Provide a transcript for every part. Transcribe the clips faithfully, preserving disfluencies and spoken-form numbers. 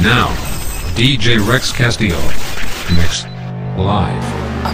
Now, D J Rex Castillo. Mix. Live.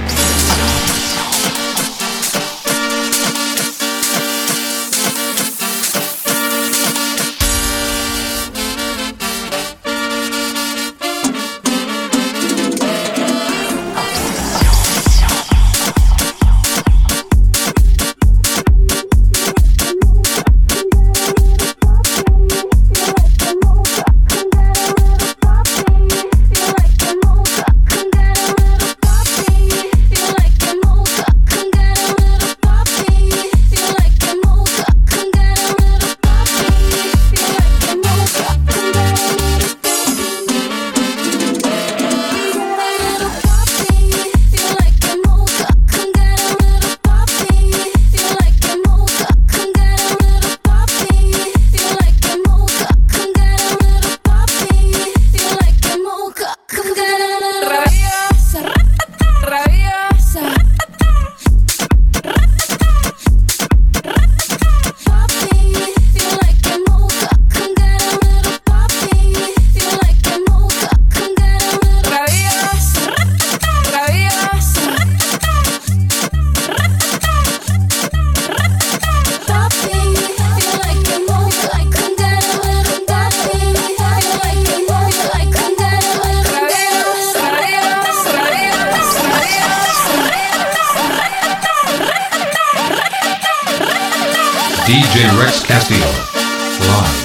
D J Rex Castillo. Live.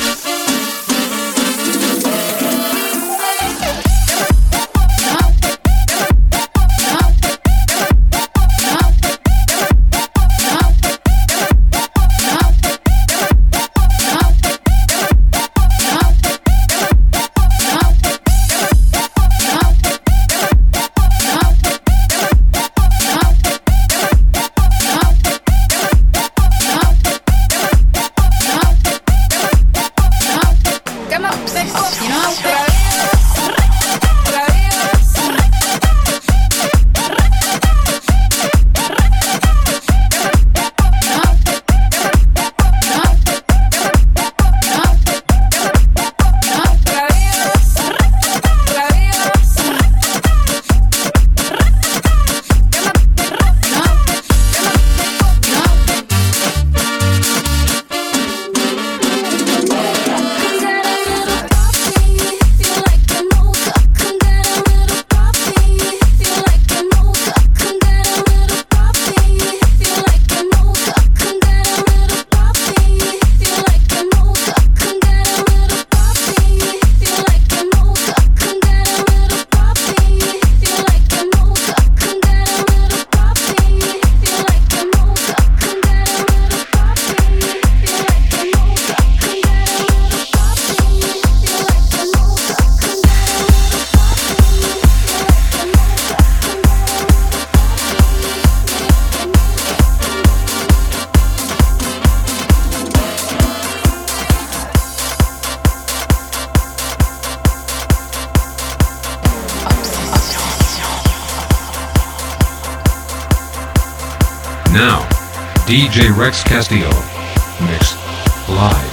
Now, D J Rex Castillo. Mix. Live.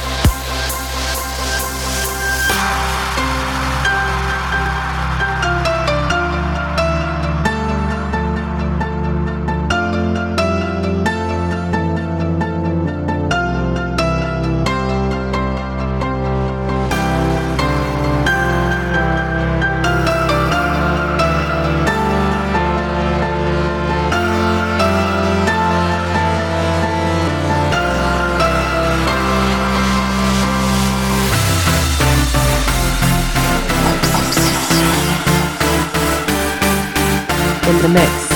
In the mix.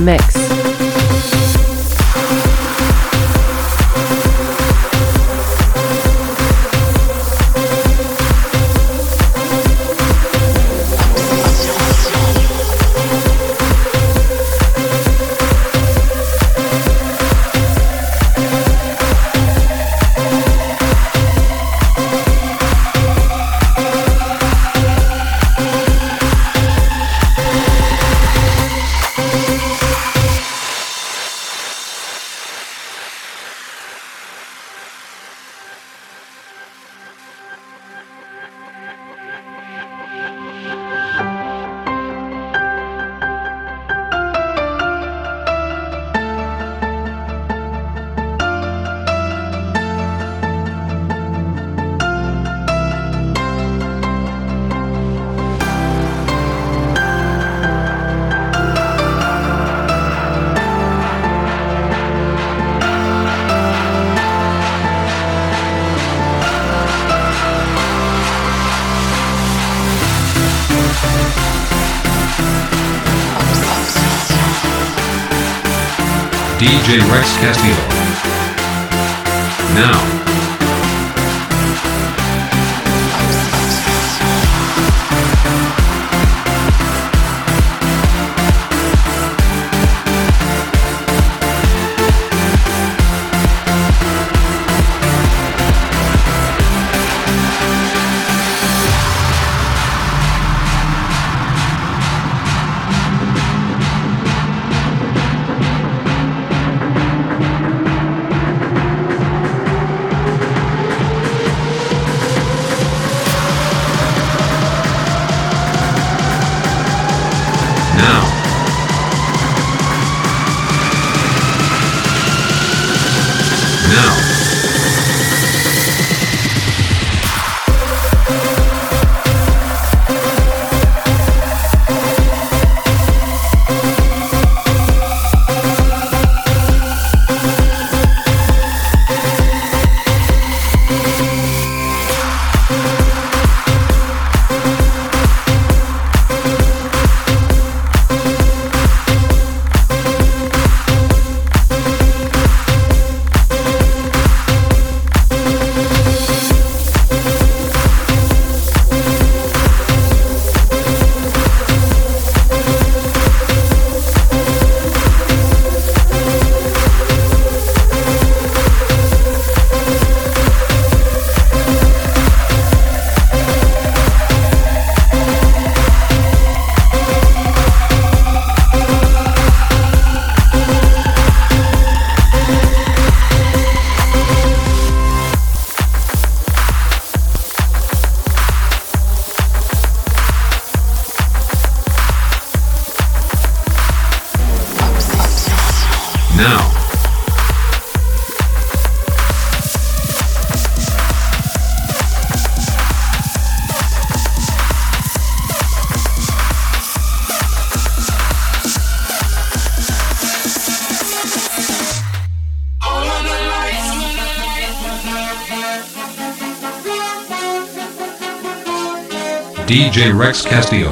mix. D J Rex Castillo. Now. Now. Now. Now. D J Rex Castillo.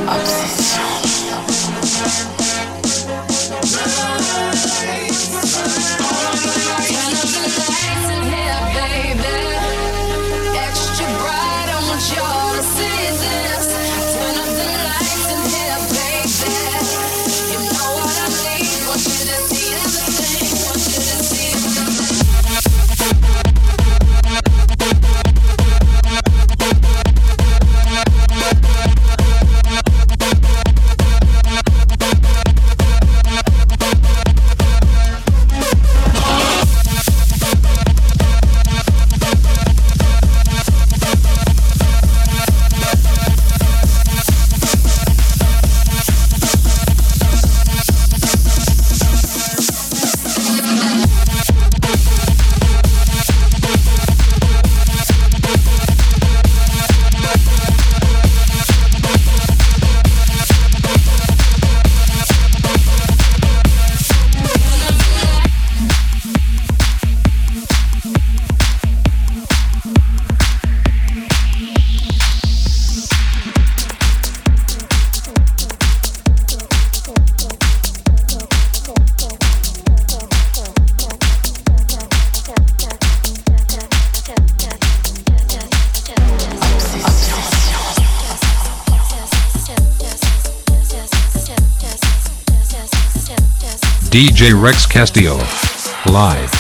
D J Rex Castillo. Live.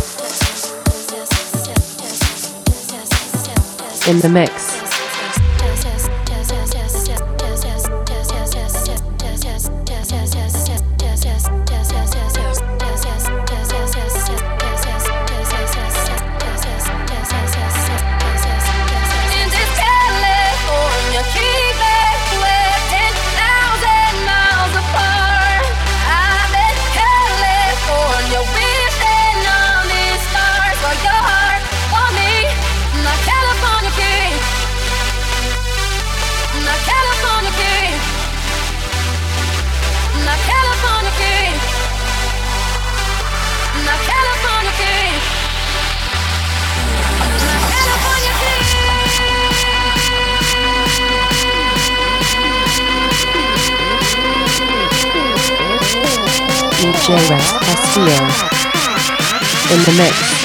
In the mix. D J Rex Castillo in the mix.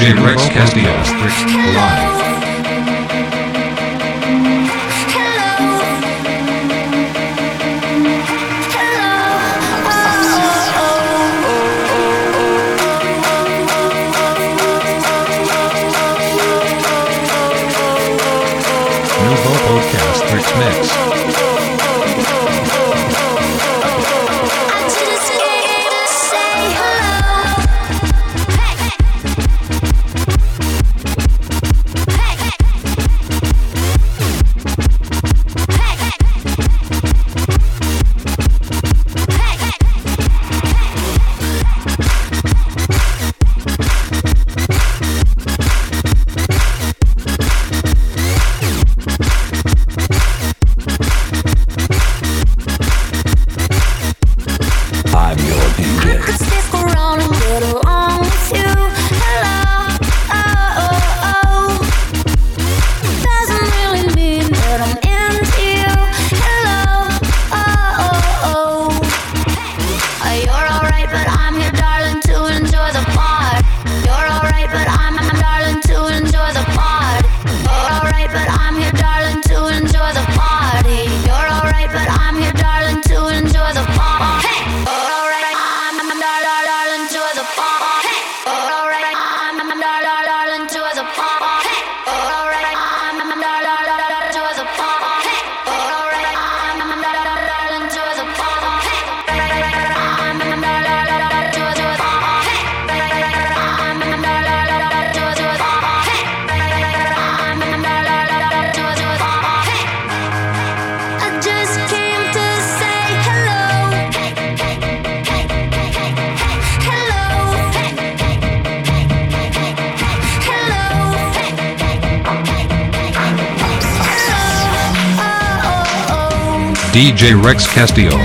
D J Rex Castillo, live. Nouveau Podcast Rich Mix. D J Rex Castillo.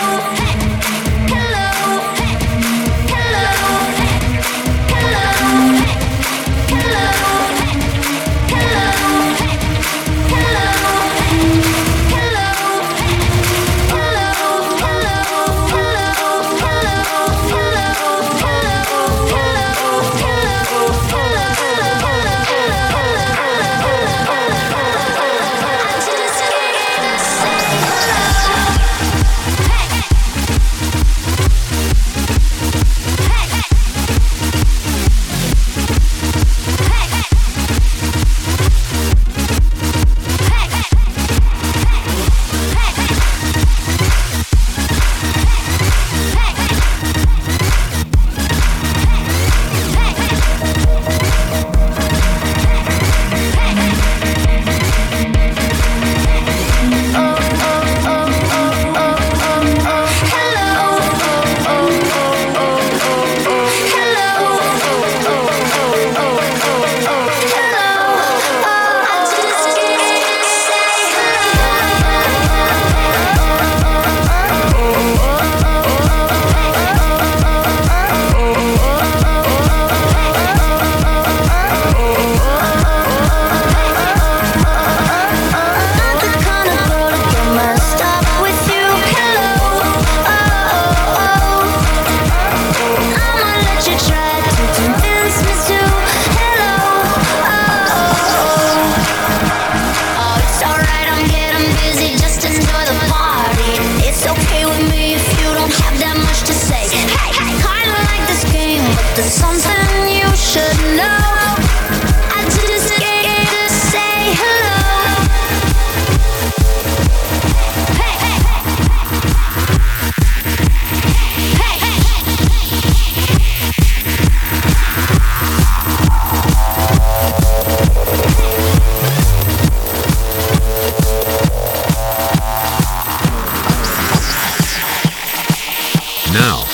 Now.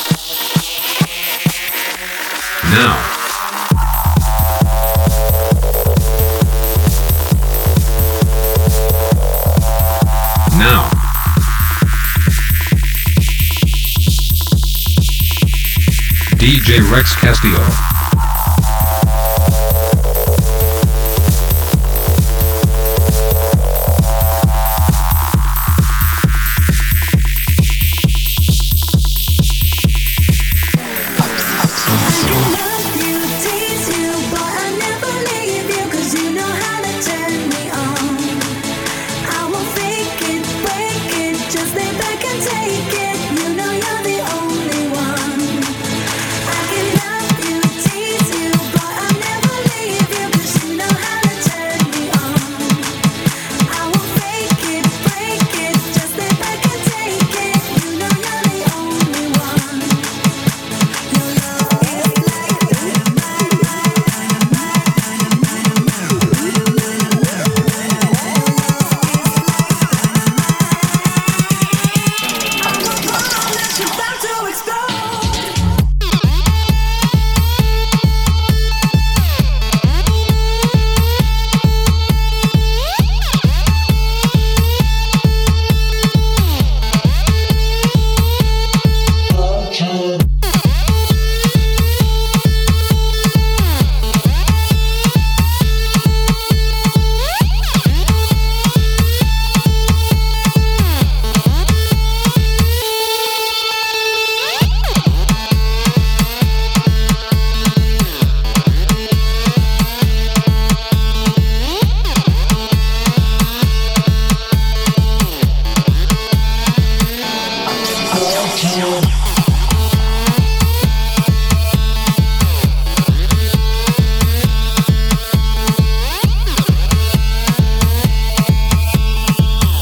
Now. Now. D J Rex Castillo. Love you, tease you, but I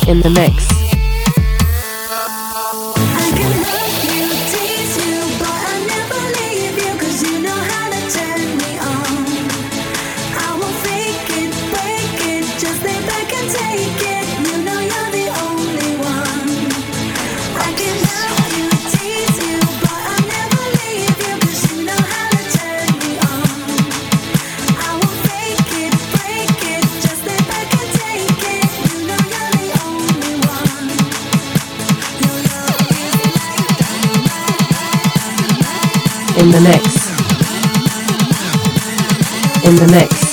In the mix. In the mix. In the mix.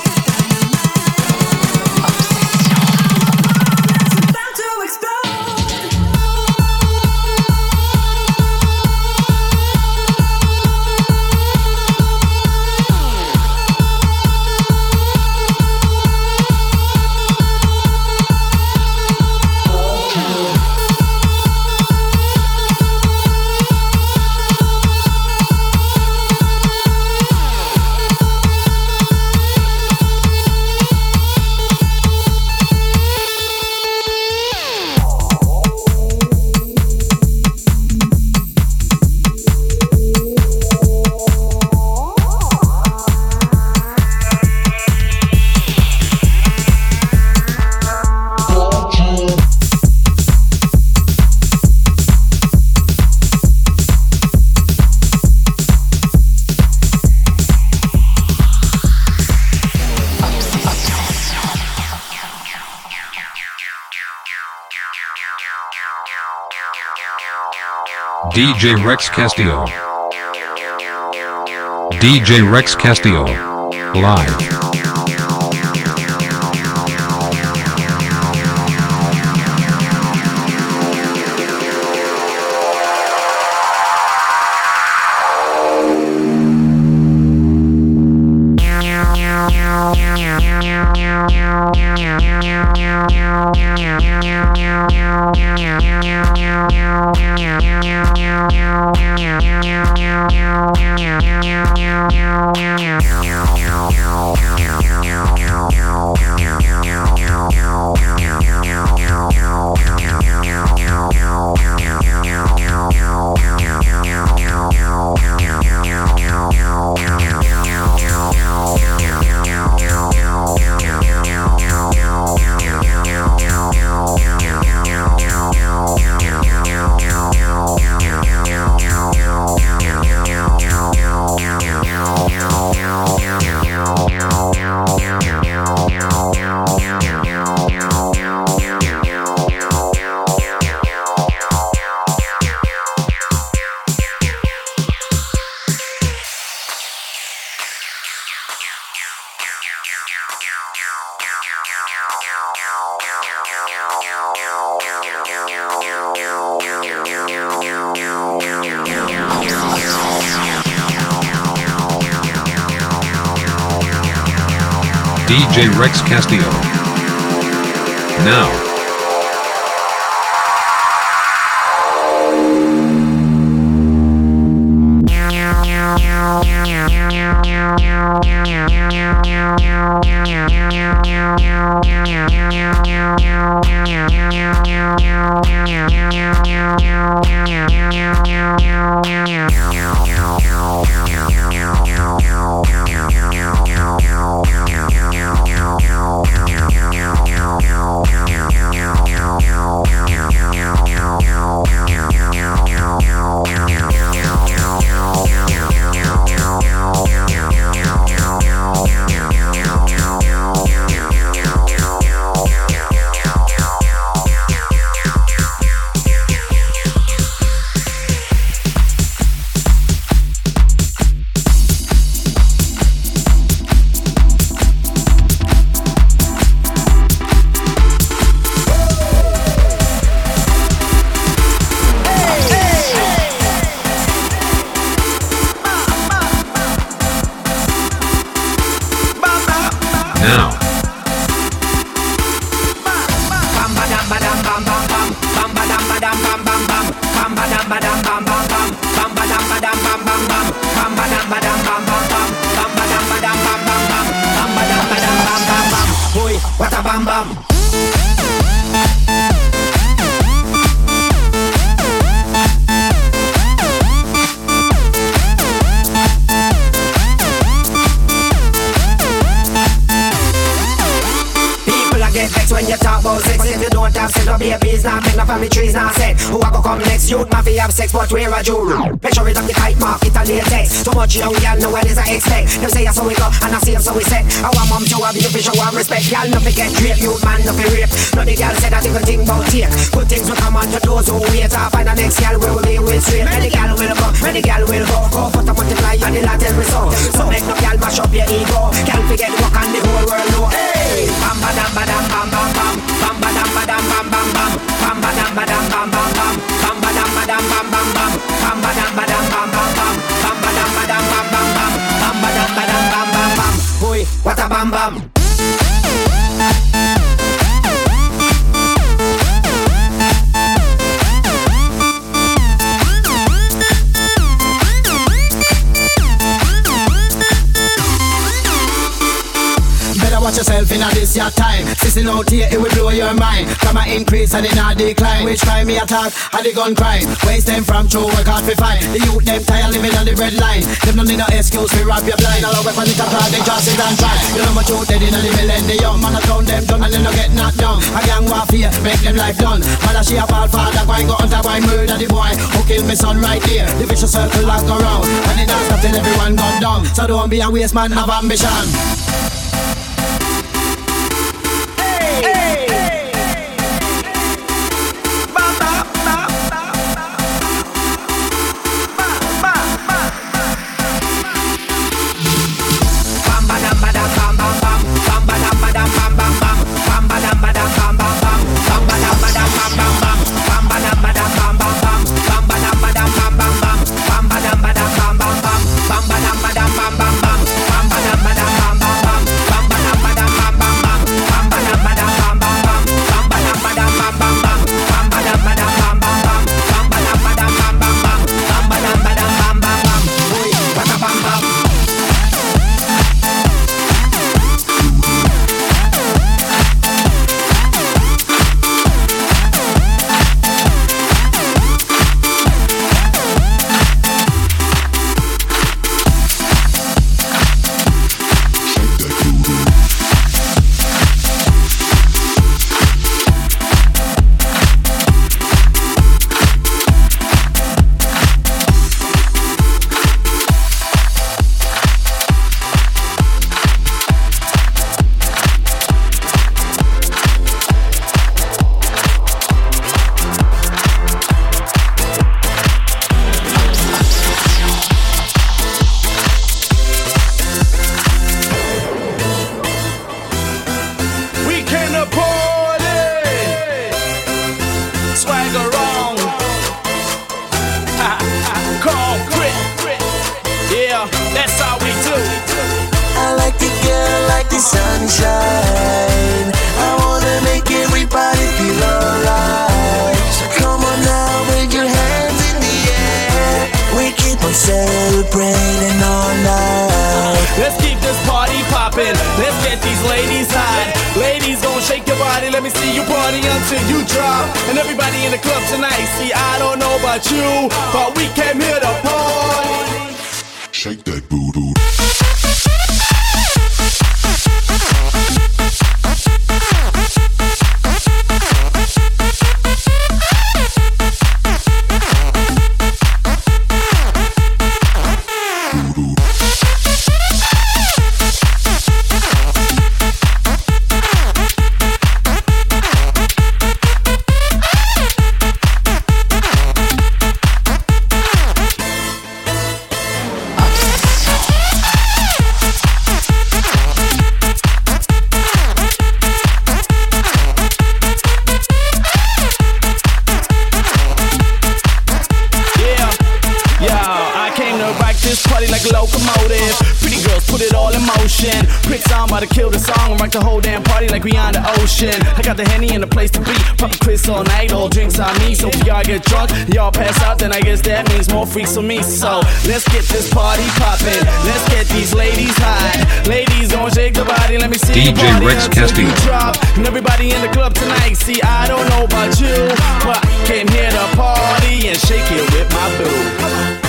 D J Rex Castillo. D J Rex Castillo. Live. D J Rex Castillo. Now. Now. What a bam bam. vex when you talk about sex. But if you don't have sex, no babies, nah make no family trees, nah set. Who a go come next? Youth man fi have sex, but where a Jew? Make sure it up the kite mark, it a latex. Too much young girl know what is I expect. Them say so we go, and I see so we set. I want mom to have you fi show her respect. Y'all no fi get drape, youth man no fi rape. No the girl say that even think about take. Good things will come on to those who wait. I find the next girl where we be with straight. Many girl will go, many girl will go. Go for to multiply and the lot tell me so. So make no girl mash up your ego. Girl forget walk on the whole world know. Hey, bam ba dam ba dam bam bam bam, bam ba dam ba dam bam bam bam, bam ba dam ba dam bam bam bam, bam ba dam ba dam bam bam bam, bam ba dam ba dam bam bam bam, bam ba dam ba dam bam bam bam, bam ba dam ba dam bam bam bam. Boy, what a bam bam. Watch yourself in a this your time. Sissing out here, it will blow your mind. Come a increase and it not decline. Which crime me attack? And the gun crime. Waste them from true work hard to find. The youth them tired living on the red line. Them no need no excuse to rob your blind. All our weapon it apart, they just sit and try. You know much youth dead in the millennium. Man a count them done and they no get knocked down. A gang warfare, make them life done. Mother she a ball father, go and go hunter, go and murder the boy who killed me son right there. The vicious circle lock around. And it don't stop till everyone gone down. So don't be a waste man, have ambition. I got the Henny and the place to be. Pop a quiz all night, all drinks on me. So if y'all get drunk, y'all pass out, then I guess that means more freaks for me. So let's get this party poppin'. Let's get these ladies high. Ladies gon' shake the body, let me see D J you party Rex until Castillo. you drop. And everybody in the club tonight, see I don't know about you, but I came here to party and shake it with my boo.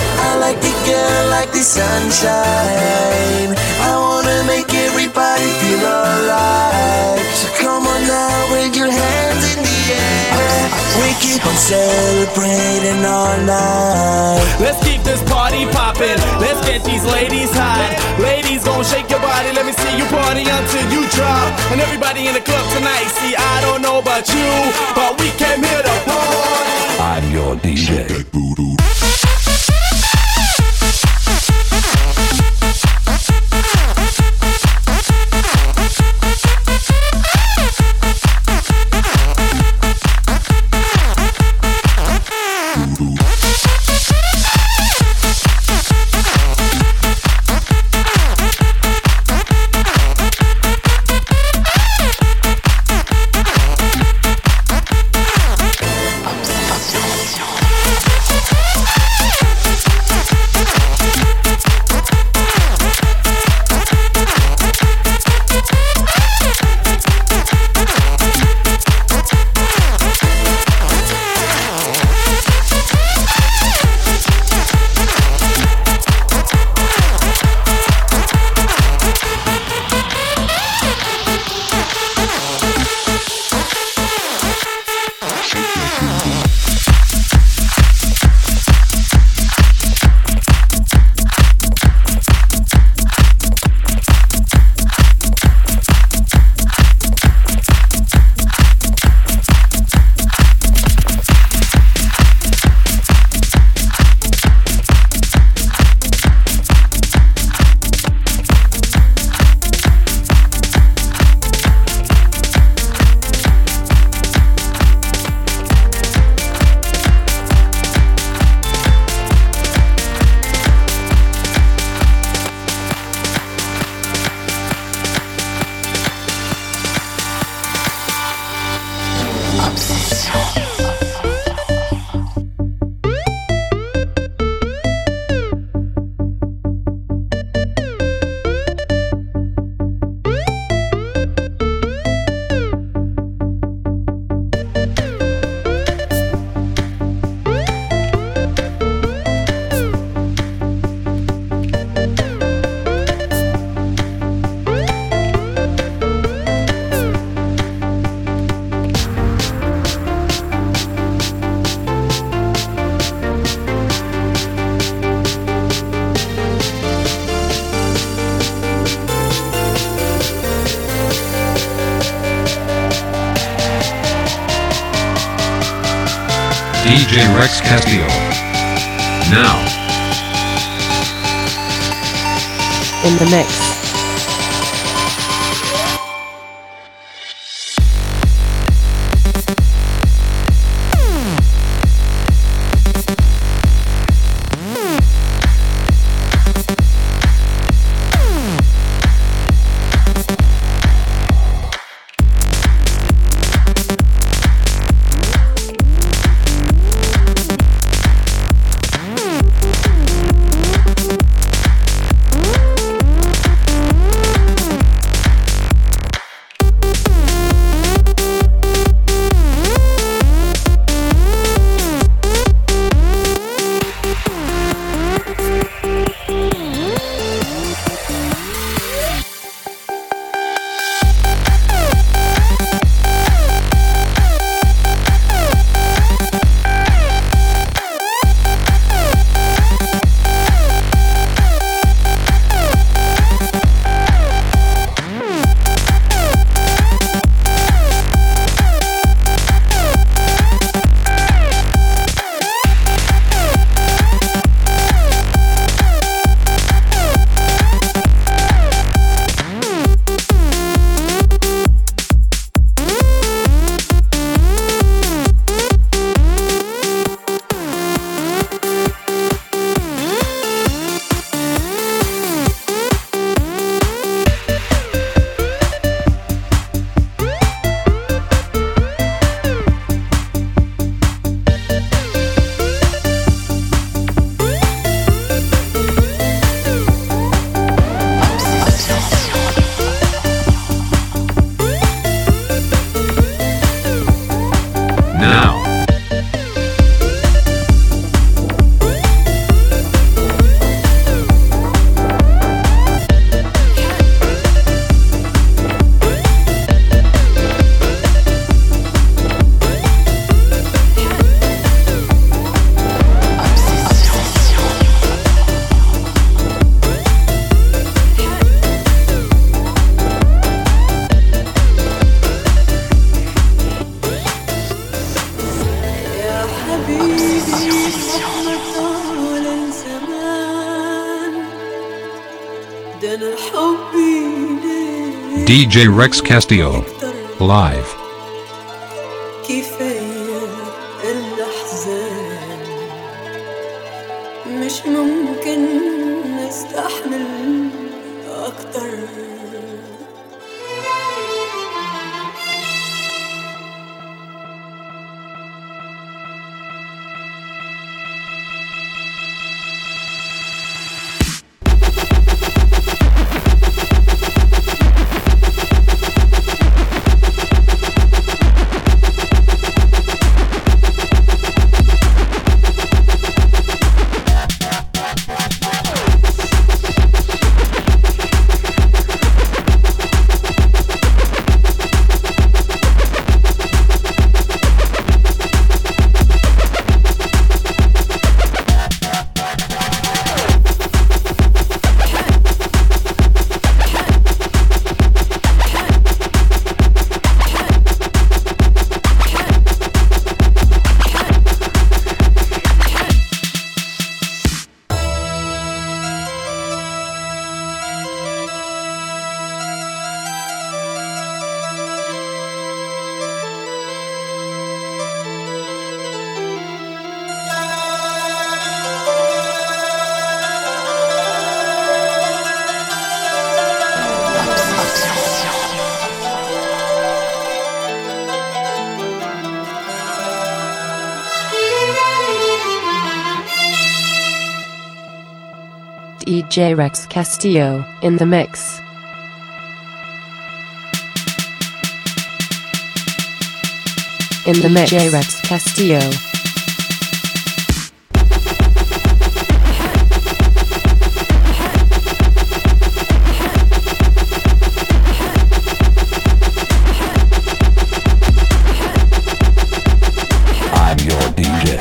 like the girl, like the sunshine. I wanna make everybody feel alright. So come on now with your hands in the air. We keep on celebrating all night. Let's keep this party poppin'. Let's get these ladies hot. Ladies gon' shake your body. Let me see you party until you drop. And everybody in the club tonight. See, I don't know about you, but we came here to party. I'm your D J. D J Rex Castillo. Now. In the mix. D J Rex Castillo, live. كفاية الأحزان مش ممكن نستحمل أكتر. D J Rex Castillo, in the mix. In the mix. D J Rex Castillo. I'm your D J.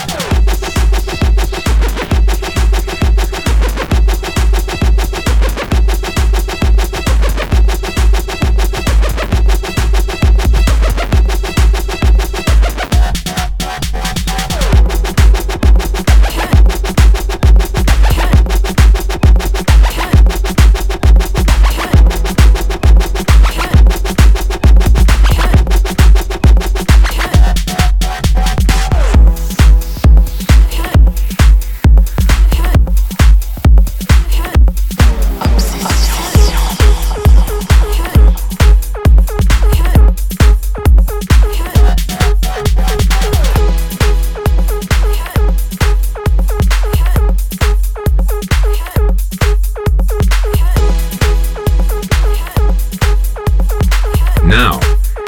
Now,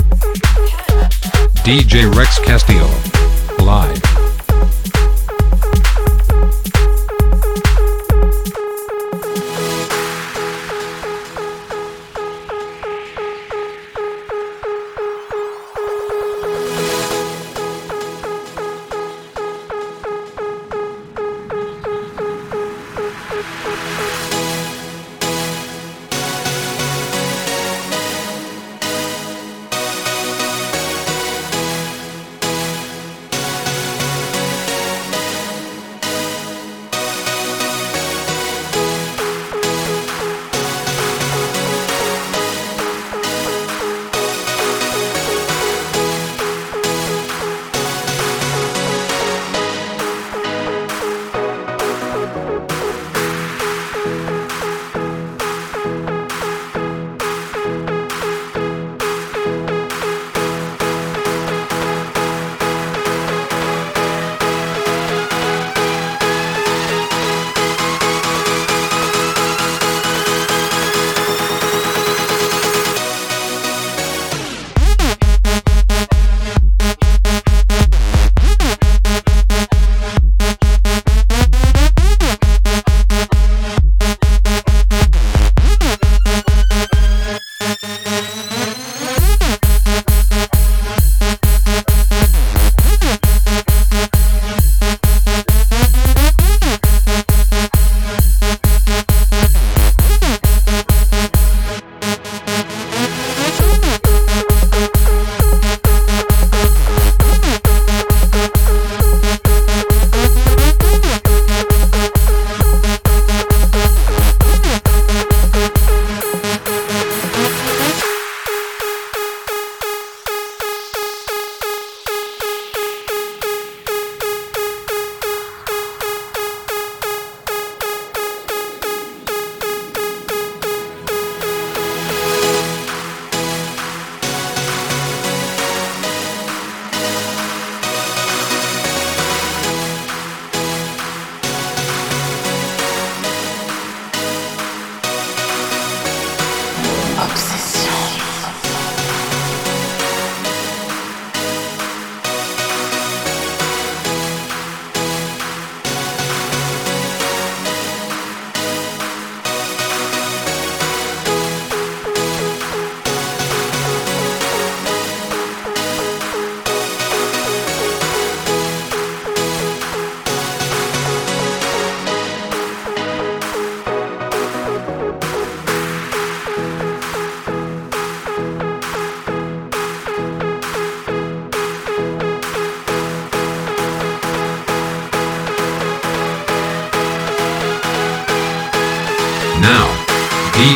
D J Rex Castillo, live.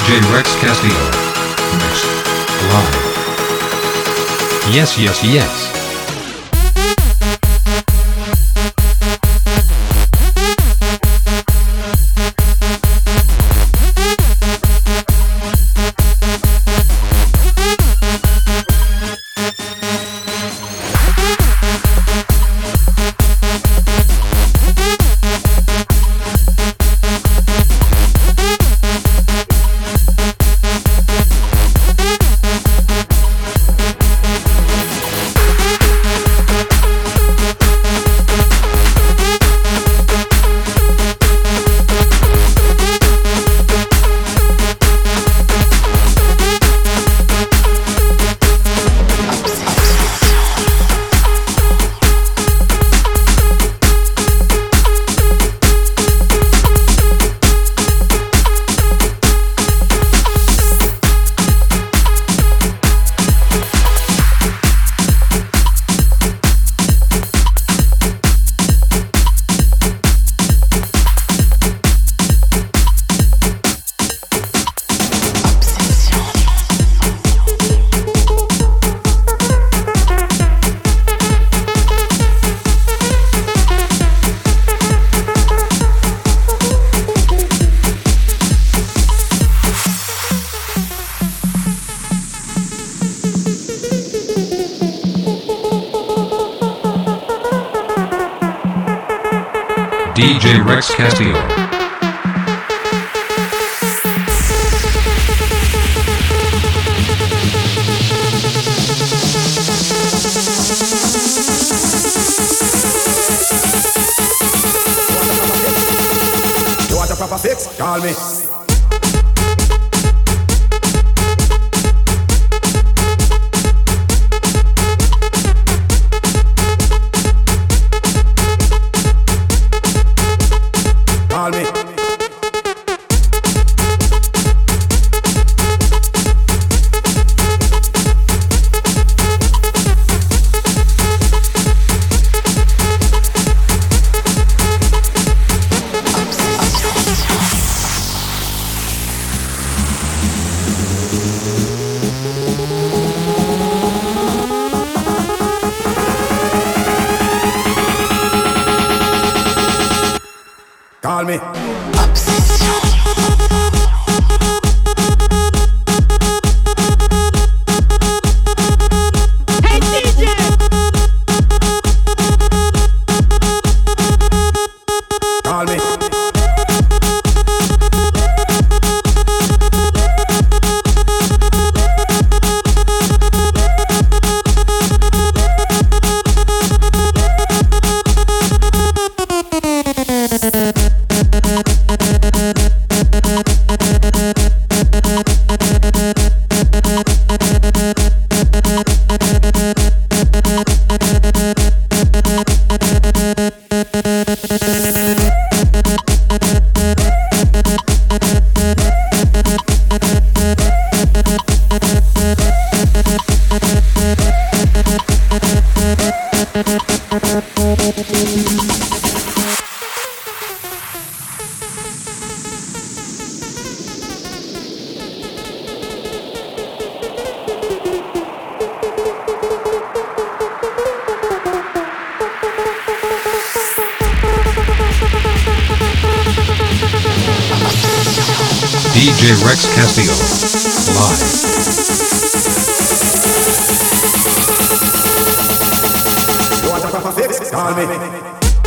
J Rex Castillo. Mix. Live. Yes, yes, yes. D J Rex Castillo. You want a proper fix? Call me. Call me. Call me. Hey D J! Call me. D J Rex Castillo. Live. You want a proper fix? Call me.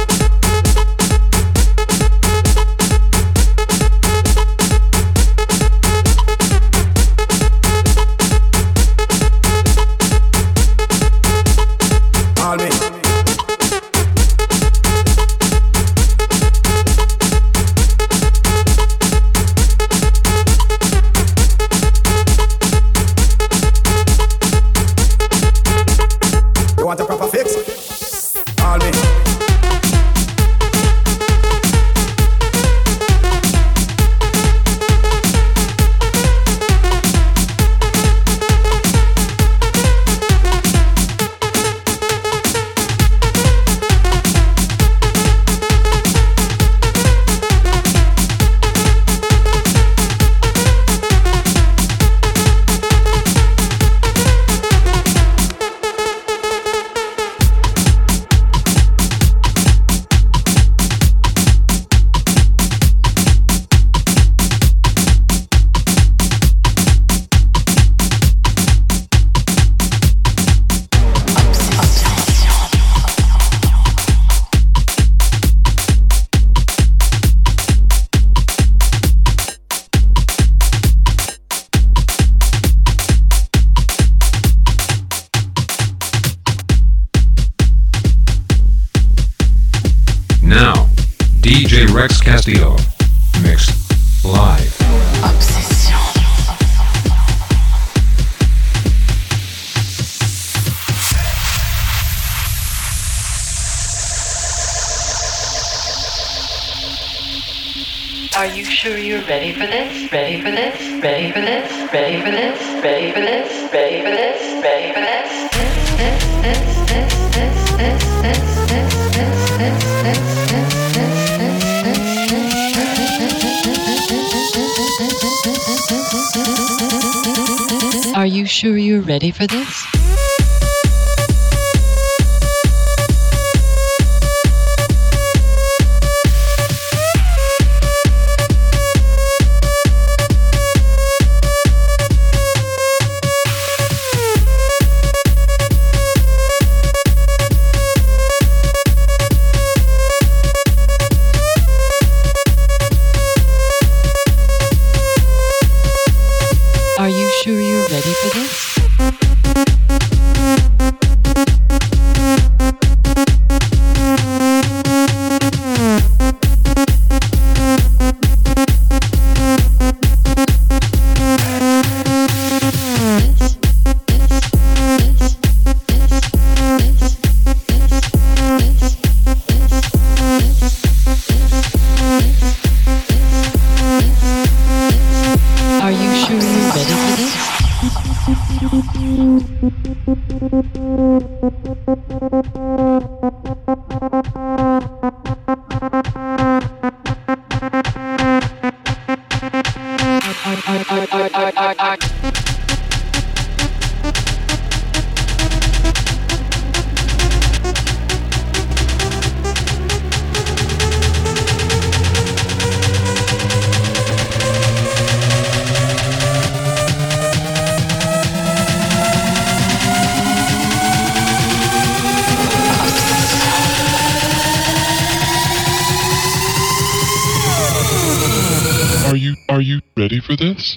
Call me. You want a proper fix? Call me. Now, D J Rex Castillo. Mixed live. Obsession. Are you sure you're ready for this? Ready for this? Ready for this? Ready for this? Ready for this? Ready for this? Ready for this? Are you sure you're ready for this? Are you are you ready for this?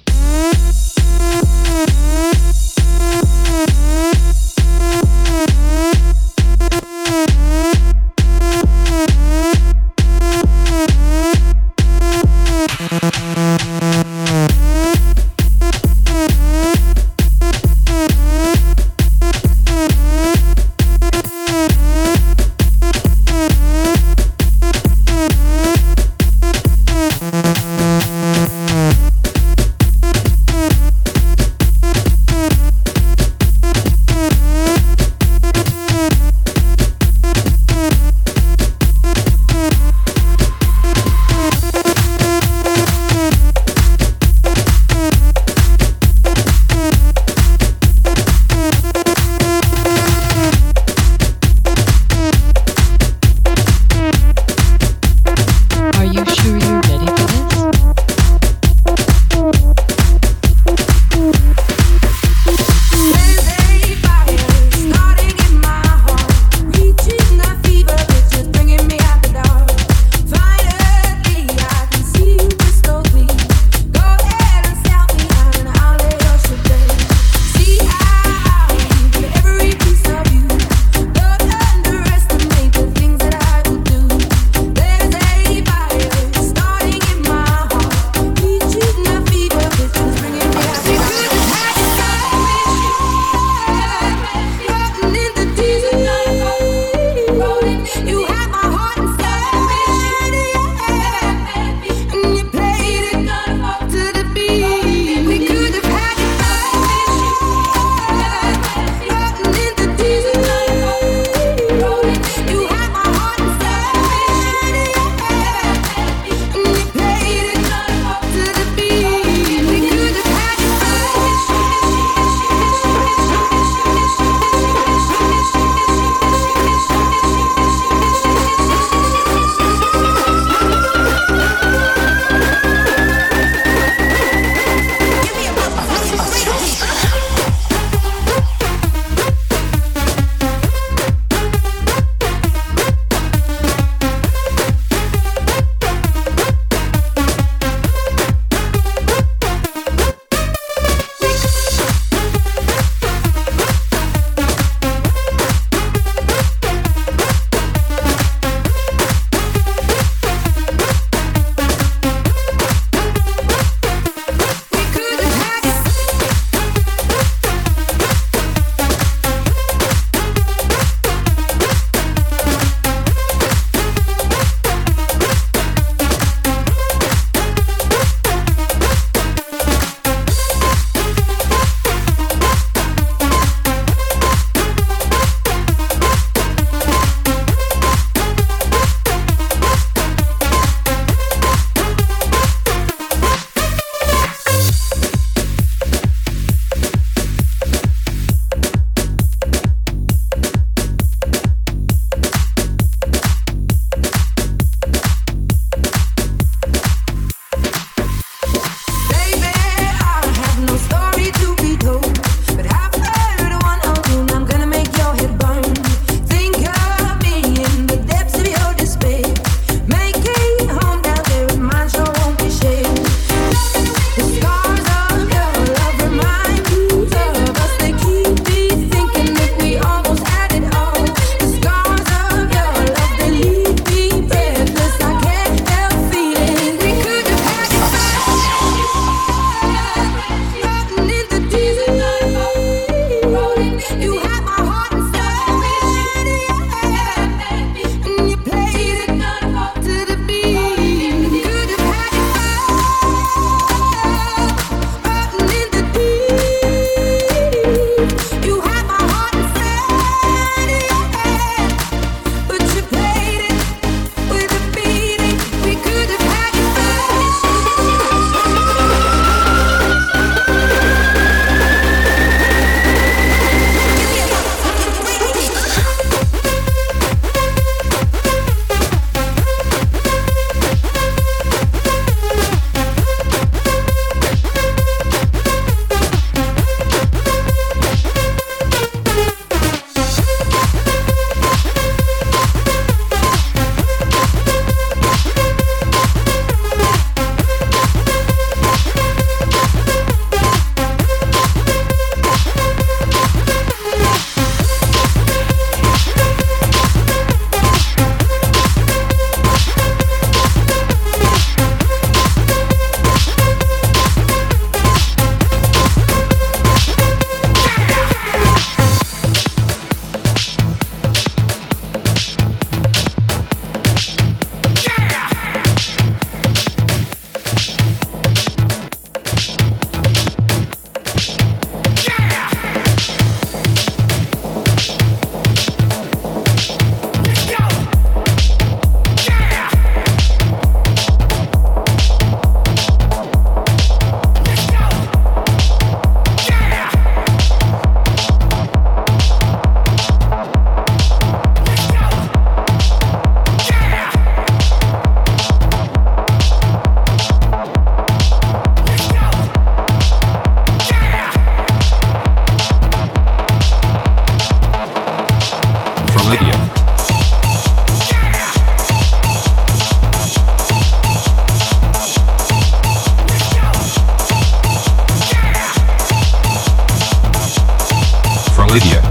Lydia. For Lydia.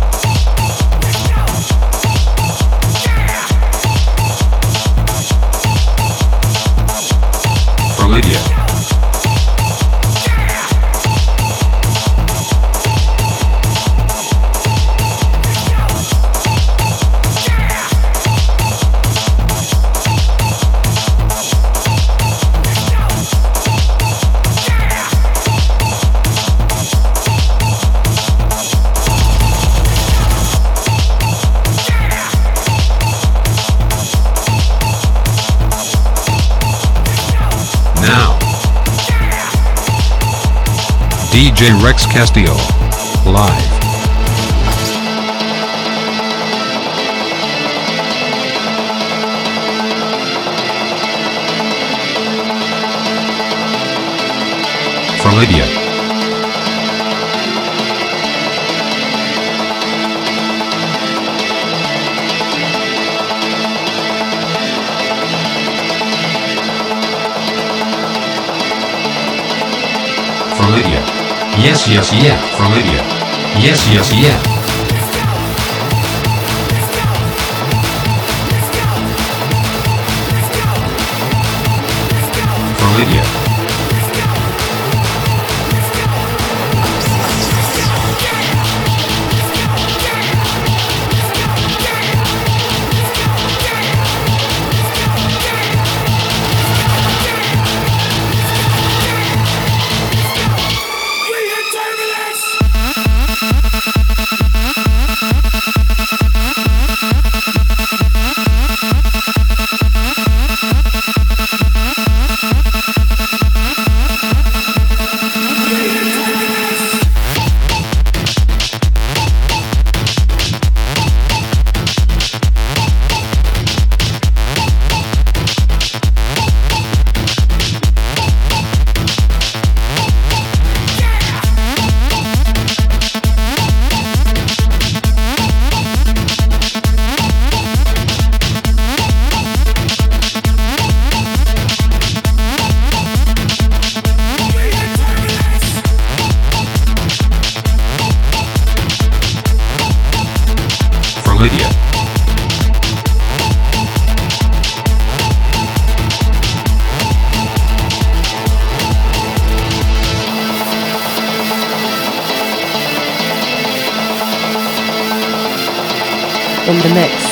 For Lydia. Now, D J Rex Castillo, live. For Lydia. For Lydia. Yes, yes, yeah. For Lydia. Yes, yes, yeah. For Lydia. Lydia. In the mix.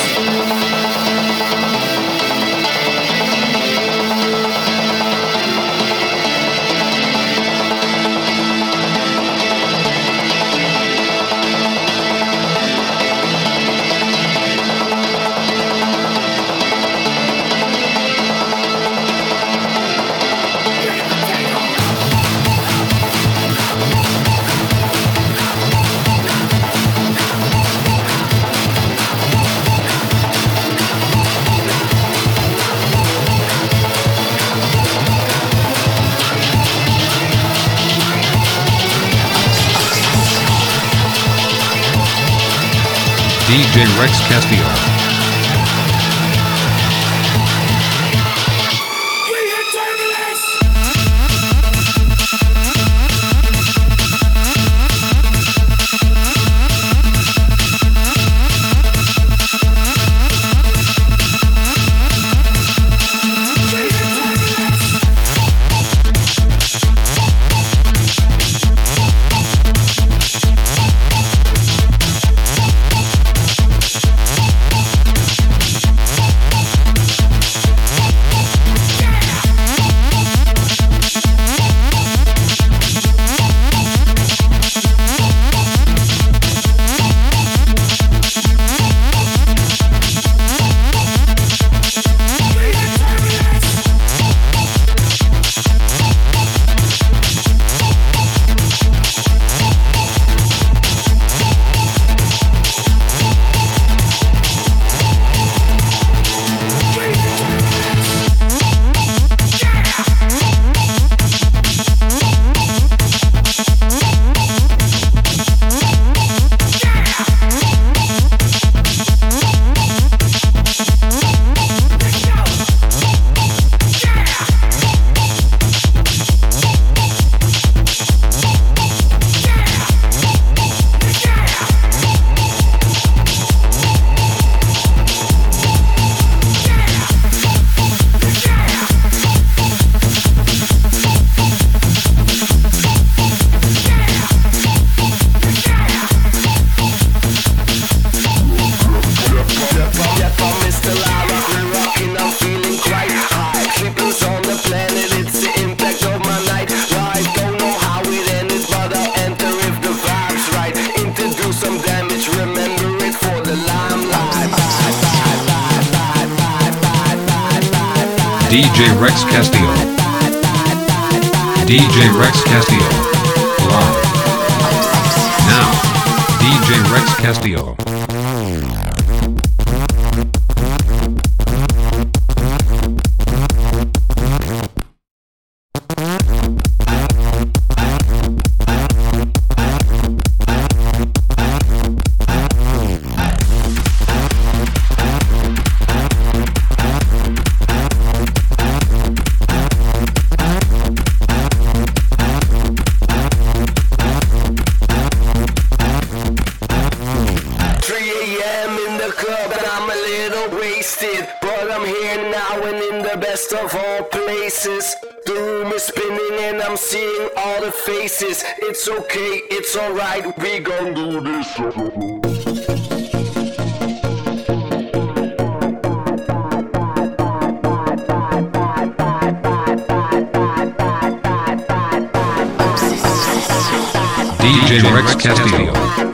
D J Rex Castillo. D J Rex Castillo. D J Rex Castillo. Live. Now, D J Rex Castillo. Of all places, the room is spinning and I'm seeing all the faces. It's okay, it's alright, we gon' do this. D J Rex Castillo.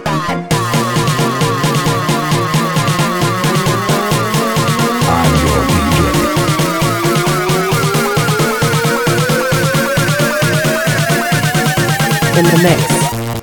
In the mix.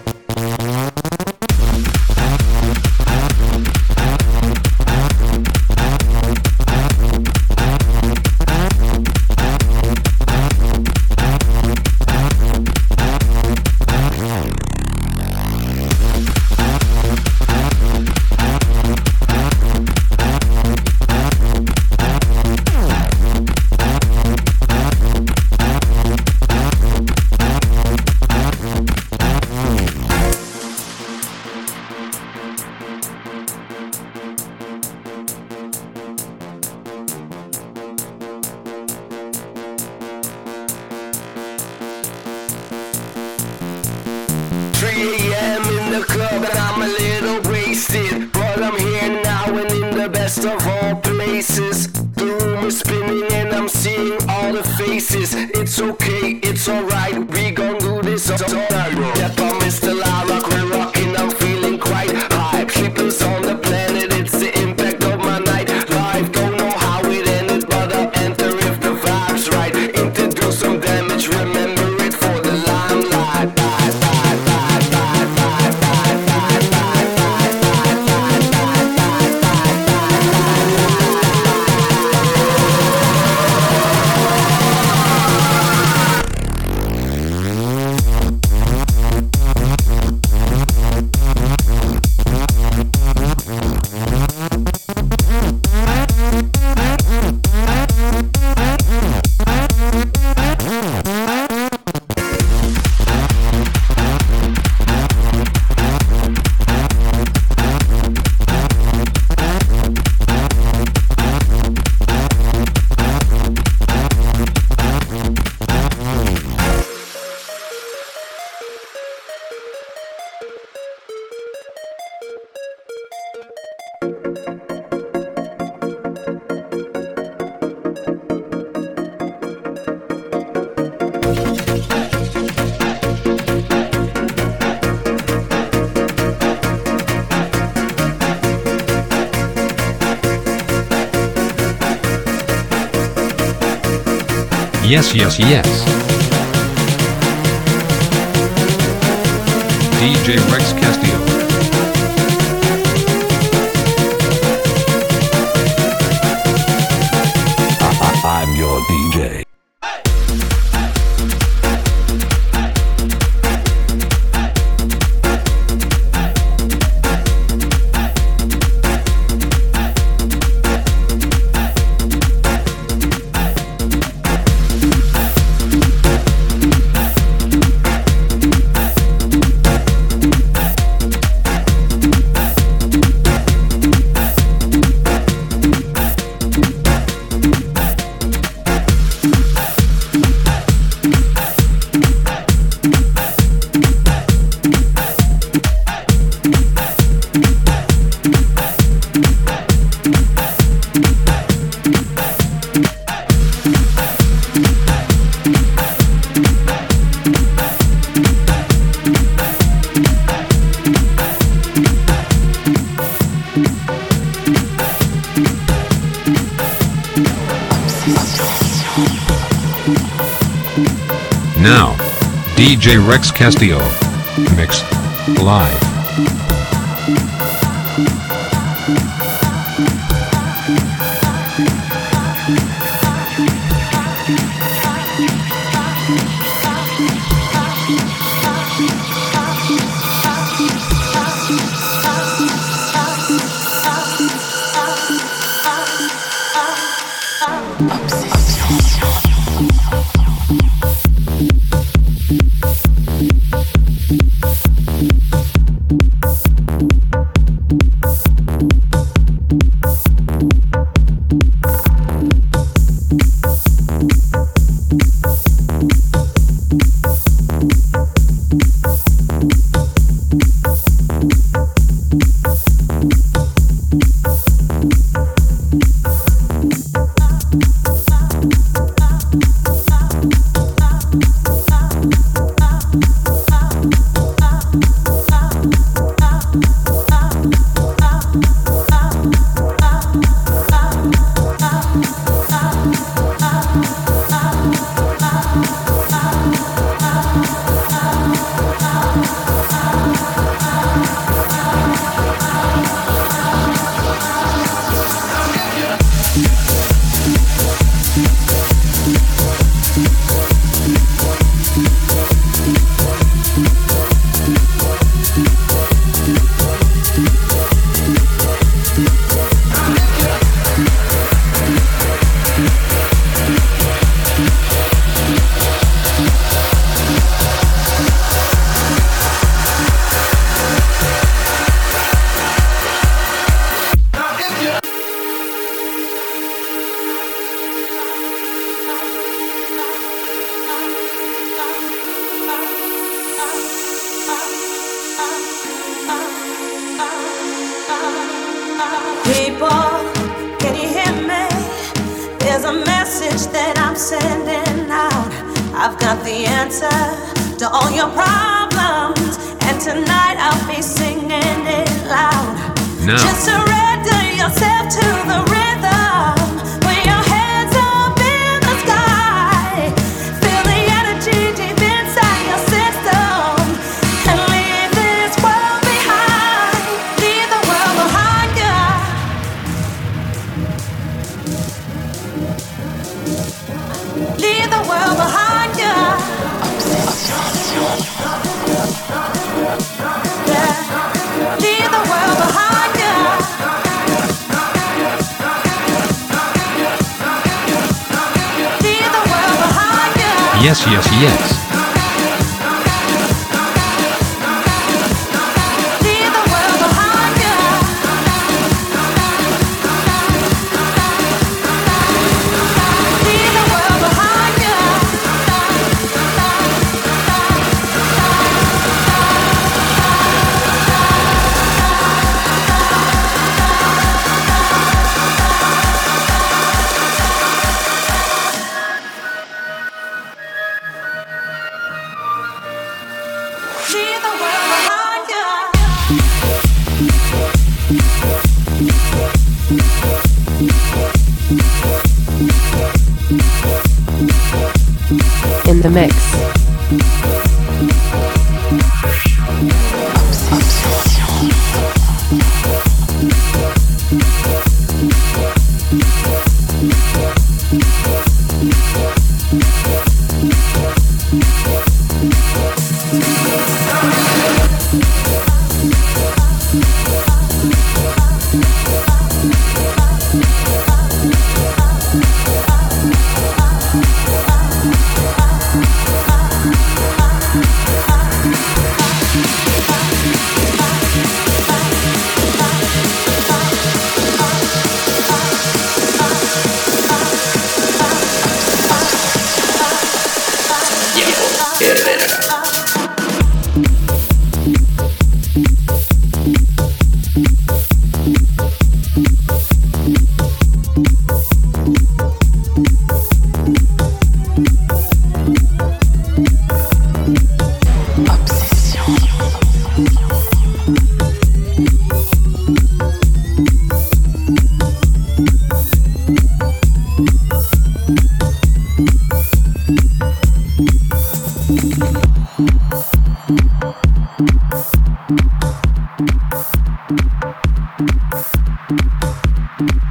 three a.m. in the club and I'm a little wasted, but I'm here now and in the best of all places. The room is spinning and I'm seeing all the faces. It's okay, it's alright, we gon' do this all night. Yep, I'm Mister La Rock, we're rocking, I'm feeling quite hype. Sleepers on the planet, it's the impact of my night. Life, don't know how it ended, but I'll enter if the vibe's right. Introduce some damage, remember it for the limelight. Yes, yes, yes. D J Rex Castillo. I'm your D J. Now, D J Rex Castillo. Mix. Live. Yes, yes, yes. In the mix. Bye.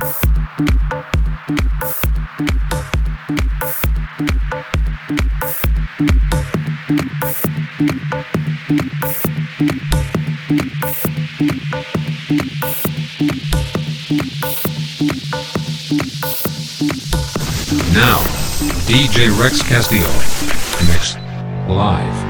Now, D J Rex Castillo. Mix. Live.